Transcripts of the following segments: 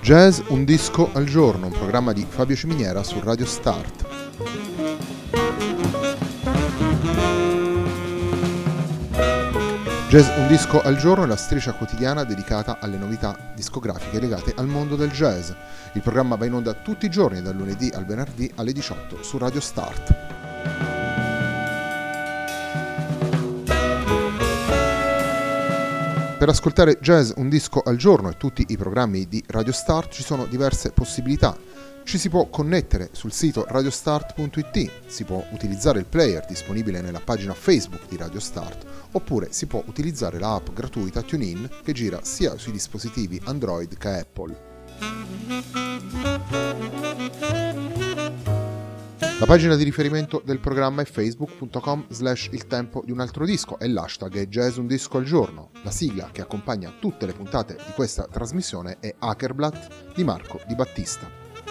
Jazz un disco al giorno, un programma di Fabio Ciminiera su Radio Start. Jazz un disco al giorno è la striscia quotidiana dedicata alle novità discografiche legate al mondo del jazz. Il programma va in onda tutti i giorni, dal lunedì al venerdì alle 18 su Radio Start. Per ascoltare Jazz un disco al giorno e tutti i programmi di Radio Start ci sono diverse possibilità. Ci si può connettere sul sito radiostart.it, si può utilizzare il player disponibile nella pagina Facebook di Radio Start, oppure si può utilizzare la app gratuita TuneIn che gira sia sui dispositivi Android che Apple. La pagina di riferimento del programma è facebook.com/il tempo di un altro disco e l'hashtag è Jazz un disco al giorno. La sigla che accompagna tutte le puntate di questa trasmissione è Hackerblatt di Marco Di Battista.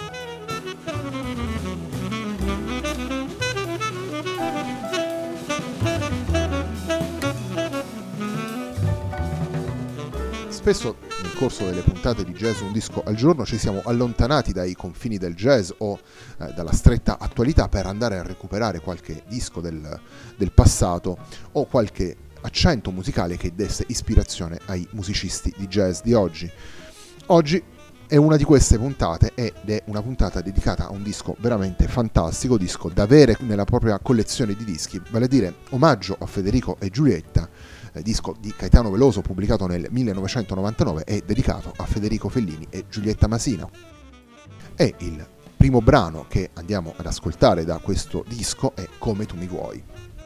Spesso nel corso delle puntate di Jazz un disco al giorno ci siamo allontanati dai confini del jazz o dalla stretta attualità per andare a recuperare qualche disco del passato o qualche accento musicale che desse ispirazione ai musicisti di jazz di oggi. Oggi è una di queste puntate ed è una puntata dedicata a un disco veramente fantastico, disco da avere nella propria collezione di dischi, vale a dire Omaggio a Federico e Giulietta, disco di Caetano Veloso pubblicato nel 1999 e dedicato a Federico Fellini e Giulietta Masina. E il primo brano che andiamo ad ascoltare da questo disco è Come tu mi vuoi.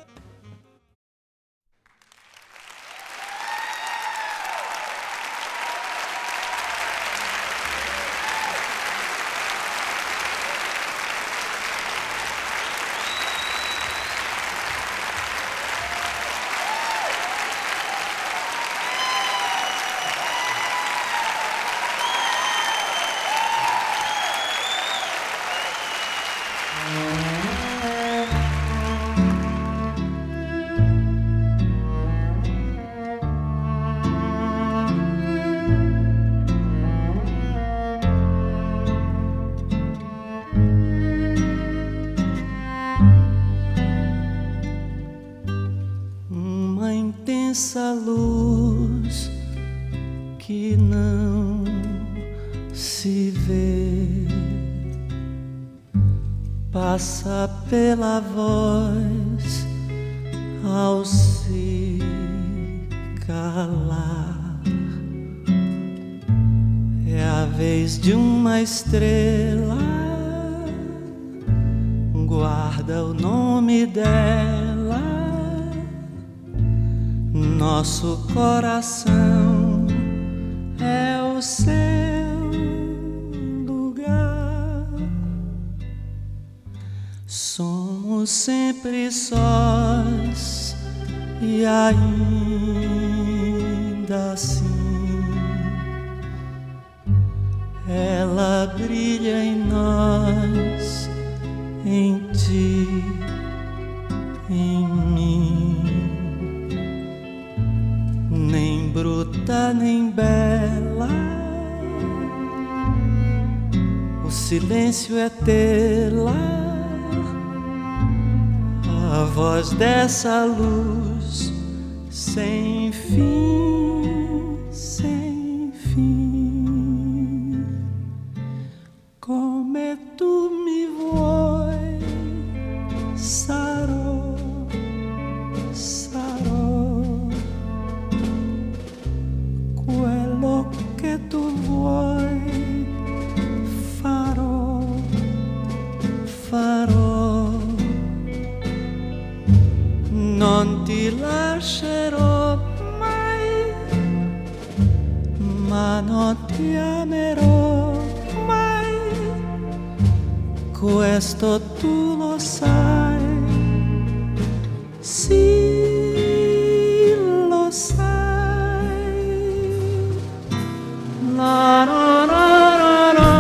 Essa luz que não se vê passa pela voz ao se calar. É a vez de uma estrela, guarda o nome dela. Nosso coração é o seu lugar. Somos sempre sós e ainda assim ela brilha em nós, em ti, em mim. Nem bruta nem bela, o silêncio é tê-la, a voz dessa luz sem fim, sem fim. Come tu mi vuoi, sarò, sarò quello che tu vuoi, farò, farò. Non ti lascerò mai, ma non ti amerò mai. Questo tu lo sai, sì, lo sai. La, la, la, la, la.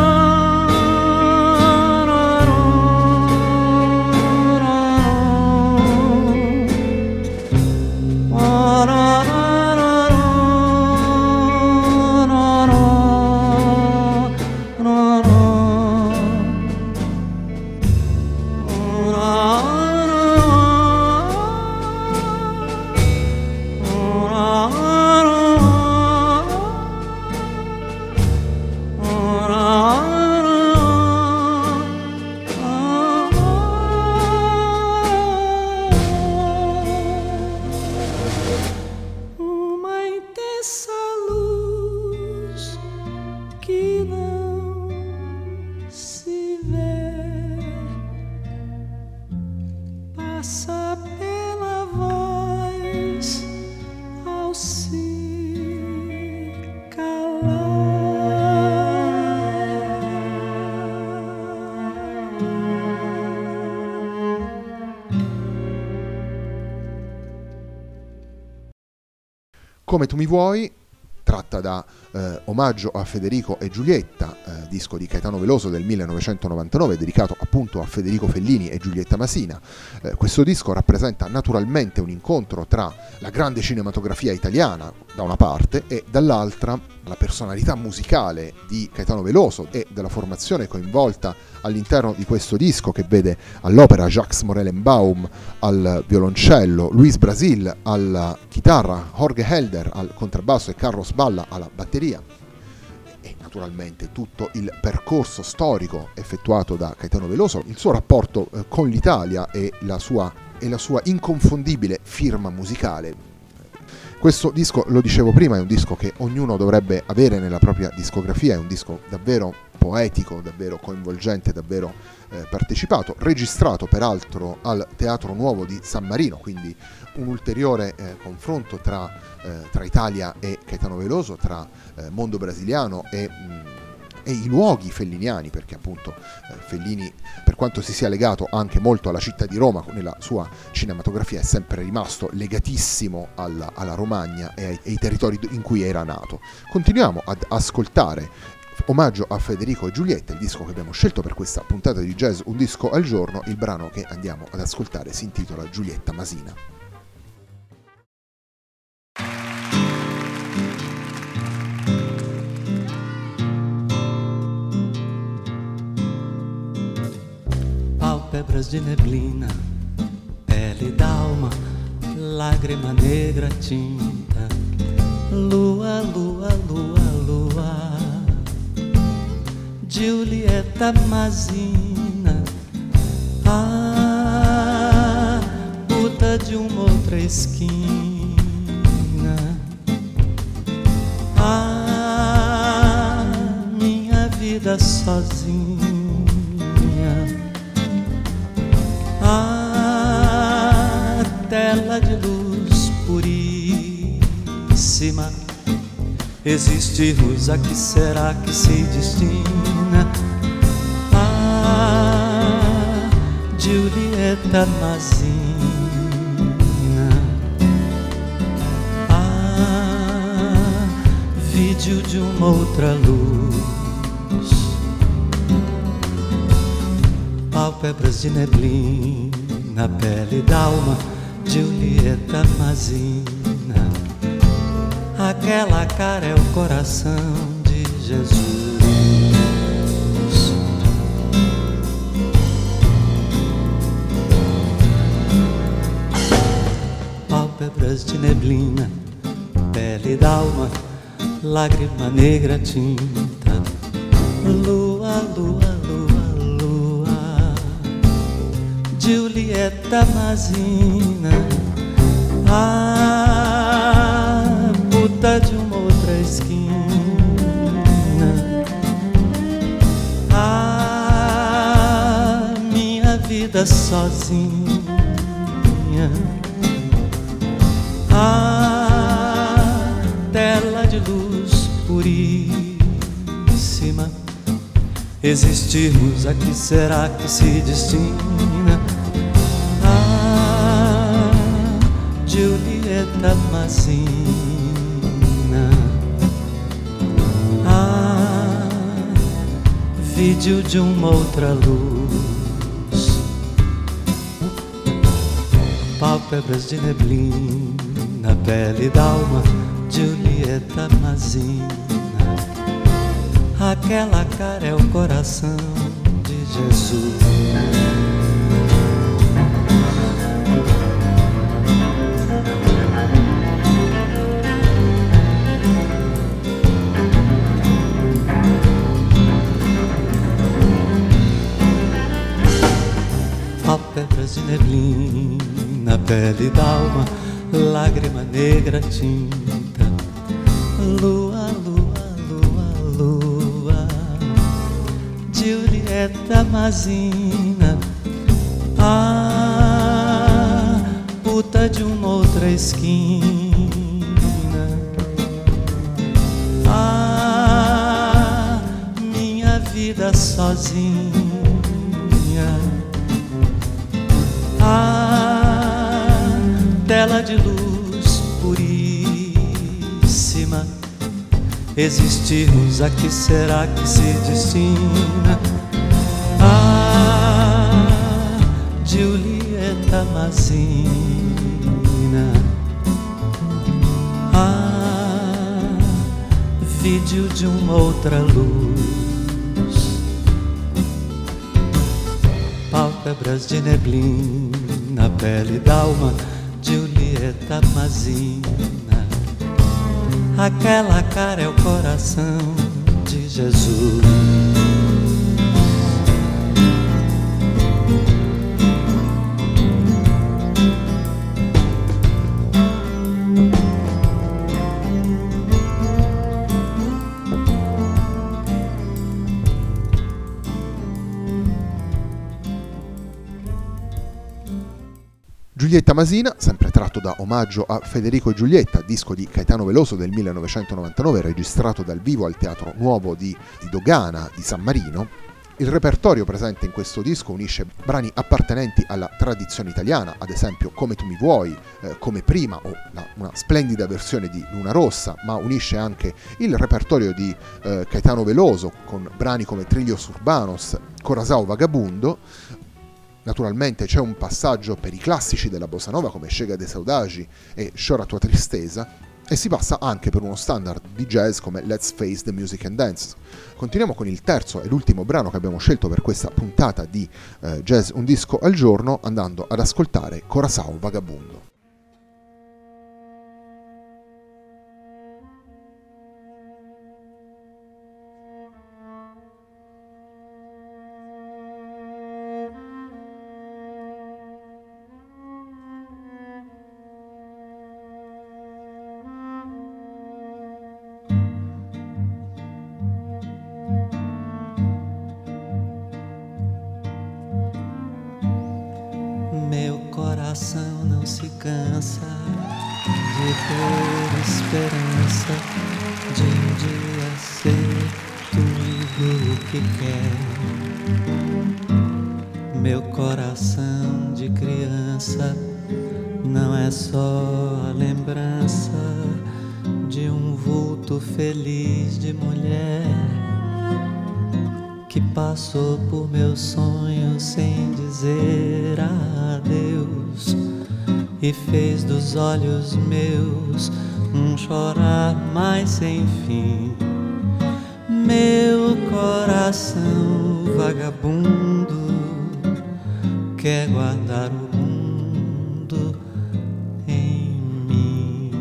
Come tu mi vuoi, tratta da Omaggio a Federico e Giulietta, disco di Caetano Veloso del 1999, dedicato appunto a Federico Fellini e Giulietta Masina. Questo disco rappresenta naturalmente un incontro tra la grande cinematografia italiana da una parte e dall'altra la personalità musicale di Caetano Veloso e della formazione coinvolta all'interno di questo disco, che vede all'opera Jacques Morellenbaum al violoncello, Luis Brasil alla chitarra, Jorge Helder al contrabbasso e Carlos Balla alla batteria, e naturalmente tutto il percorso storico effettuato da Caetano Veloso, il suo rapporto con l'Italia e la sua inconfondibile firma musicale. Questo disco, lo dicevo prima, è un disco che ognuno dovrebbe avere nella propria discografia, è un disco davvero poetico, davvero coinvolgente, davvero partecipato, registrato peraltro al Teatro Nuovo di San Marino, quindi un ulteriore confronto tra Italia e Caetano Veloso, tra mondo brasiliano e i luoghi felliniani, perché appunto Fellini, per quanto si sia legato anche molto alla città di Roma nella sua cinematografia, è sempre rimasto legatissimo alla Romagna e ai territori in cui era nato. Continuiamo ad ascoltare Omaggio a Federico e Giulietta, il disco che abbiamo scelto per questa puntata di Jazz Un Disco al Giorno. Il brano che andiamo ad ascoltare si intitola Giulietta Masina. Palpebras de neblina, pele d'alma, lágrima negra tinta, lua, lua, lua, lua, Giulietta Masina, ah, puta de uma outra esquina, ah, minha vida sozinha. A tela de luz puríssima, existe luz, a que será que se destina? Ah, Giulietta Masina, ah, vídeo de uma outra luz, pálpebras de neblina, pele d'alma, Giulietta Masina. Aquela cara é o coração de Jesus. Pálpebras de neblina, pele d'alma, lágrima negra tinta, lua, lua, Giulietta Masina, ah, puta de uma outra esquina, ah, minha vida sozinha, ah, tela de luz puríssima, existirmos, a que será que se destina? Giulietta Masina, ah, vídeo de uma outra luz, pálpebras de neblina, pele d'alma, Giulietta Masina. Aquela cara é o coração de Jesus. Pálpebras de neblina, pele d'alma, lágrima negra tinta, lua, lua, lua, lua, Giulietta Masina, ah, puta de uma outra esquina, ah, minha vida sozinha, ah, tela de luz puríssima, Existe Rosa que será que se destina a Giulietta Masina, a vídeo de uma outra luz, pálpebras de neblina, pele d'alma, Giulietta Masina. Aquela cara é o coração de Jesus. Giulietta Masina, sempre tratto da Omaggio a Federico e Giulietta, disco di Caetano Veloso del 1999, registrato dal vivo al Teatro Nuovo di Dogana di San Marino. Il repertorio presente in questo disco unisce brani appartenenti alla tradizione italiana, ad esempio Come tu mi vuoi, Come prima o una splendida versione di Luna Rossa, ma unisce anche il repertorio di Caetano Veloso con brani come Trillos Urbanos, Corazao Vagabundo. Naturalmente c'è un passaggio per i classici della bossa nova come Chega de Saudade e Chora tua tristeza, e si passa anche per uno standard di jazz come Let's Face the Music and Dance. Continuiamo con il terzo e l'ultimo brano che abbiamo scelto per questa puntata di Jazz Un Disco al Giorno, andando ad ascoltare Corazao Vagabundo. Meu coração não se cansa de ter esperança de um dia ser tudo o que quer. Meu coração de criança não é só a lembrança de um vulto feliz de mulher que passou por meus sonhos sem dizer adeus e fez dos olhos meus um chorar mais sem fim. Meu coração vagabundo quer guardar o mundo em mim.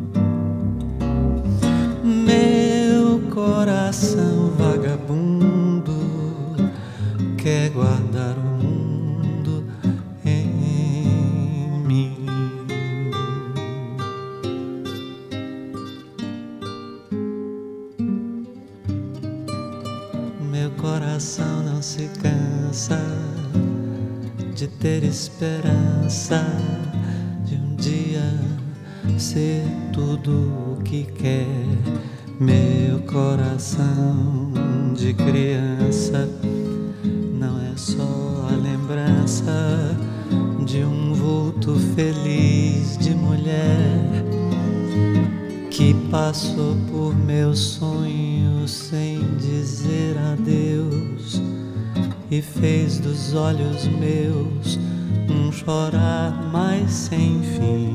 Meu coração vagabundo quer guardar o mundo em mim. Meu coração não se cansa de ter esperança de um dia ser tudo o que quer. Meu coração de criança não é só a lembrança de um vulto feliz de mulher que passou por meus sonhos sem dizer adeus e fez dos olhos meus um chorar mais sem fim.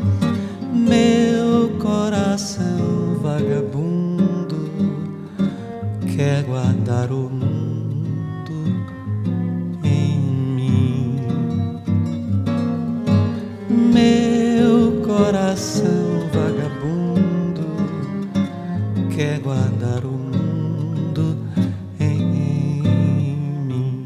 Meu coração vagabundo quer guardar o mundo em mim. Meu coração vagabundo quer guardar o mundo em mim.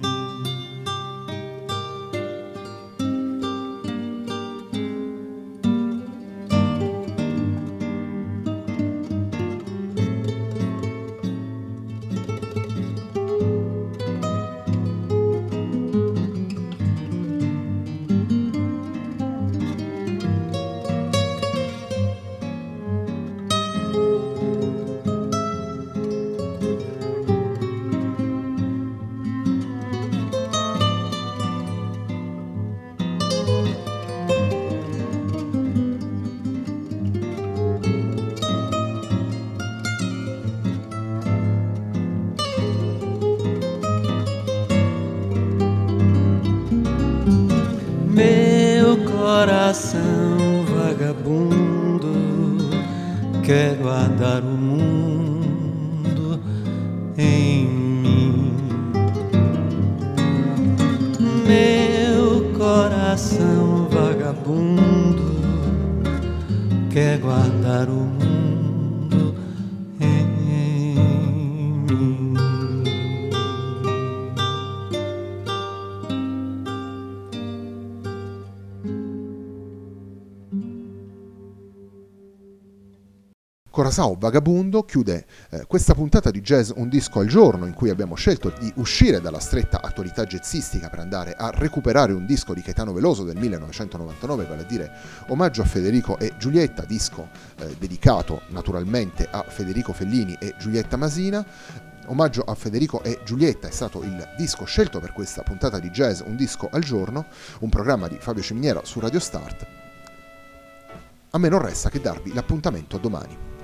quero andar o mundo em mim. Meu coração vagabundo quer guardar o mundo em mim. Corazao Vagabundo chiude questa puntata di Jazz Un Disco al Giorno, in cui abbiamo scelto di uscire dalla stretta attualità jazzistica per andare a recuperare un disco di Caetano Veloso del 1999, vale a dire Omaggio a Federico e Giulietta, disco dedicato naturalmente a Federico Fellini e Giulietta Masina. Omaggio a Federico e Giulietta è stato il disco scelto per questa puntata di Jazz Un Disco al Giorno, un programma di Fabio Ciminiera su Radio Start. A me non resta che darvi l'appuntamento a domani.